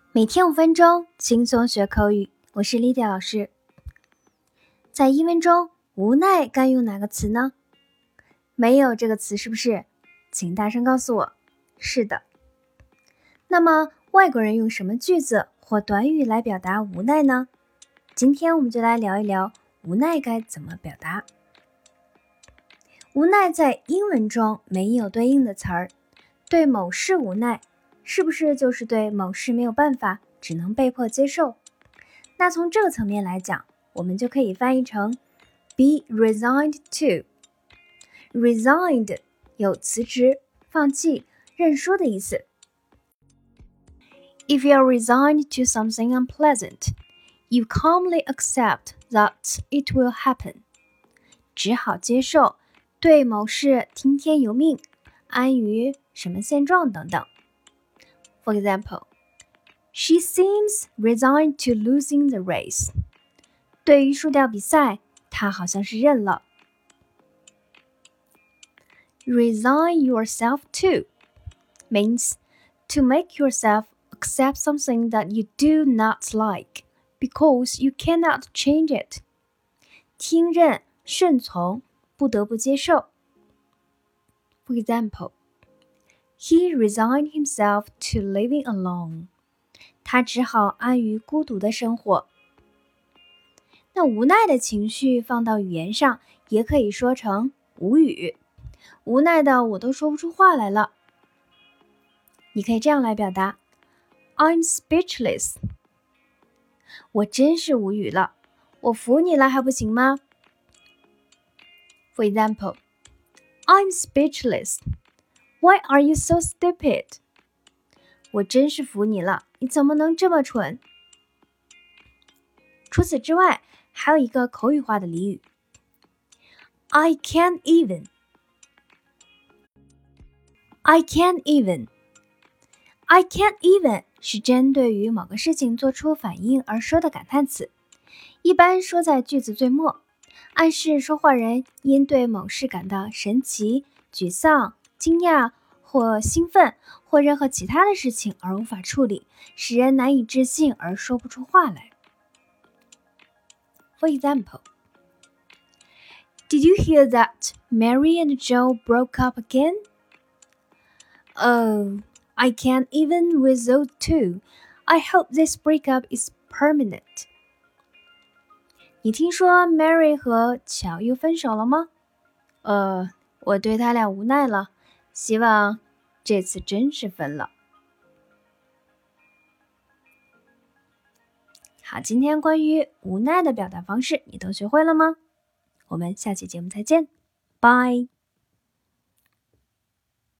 每天5分钟，轻松学口语。我是 Lydia 老师。在英文中，无奈该用哪个词呢？没有这个词是不是？请大声告诉我。是的。那么，外国人用什么句子或短语来表达无奈呢？今天我们就来聊一聊无奈该怎么表达。无奈在英文中没有对应的词儿，对某事无奈，是不是就是对某事没有办法，只能被迫接受？那从这个层面来讲，我们就可以翻译成 be resigned to。resigned 有辞职、放弃、认输的意思。If you are resigned to something unpleasant, you calmly accept that it will happen. 只好接受，对某事听天由命，安于什么现状等等。For example, she seems resigned to losing the race. 对于输掉比赛，她好像是认了。Resign yourself to means to make yourself accept something that you do not like because you cannot change it. 听任、顺从，不得不接受。For example, he resigned himself to living alone. 他只好安于孤独的生活。那无奈的情绪放到语言上，也可以说成无语。无奈的我都说不出话来了。你可以这样来表达 I'm speechless. 我真是无语了，我服你了还不行吗？ For example, I'm speechless. Why are you so stupid? 我真是服你了，你怎么能这么蠢？除此之外，还有一个口语化的俚语 I can't even. I can't even. I can't even 是针对于某个事情做出反应而说的感叹词，一般说在句子最末，暗示说话人因对某事感到神奇、沮丧、惊讶或兴奋或任何其他的事情而无法处理，使人难以置信而说不出话来。For example, Did you hear that Mary and Joe broke up again? Oh, I can't even with those two. I hope this breakup is permanent. 你听说 Mary 和乔又分手了吗？我对他俩无奈了，希望这次真是分了。好，今天关于无奈的表达方式你都学会了吗？我们下期节目再见，拜。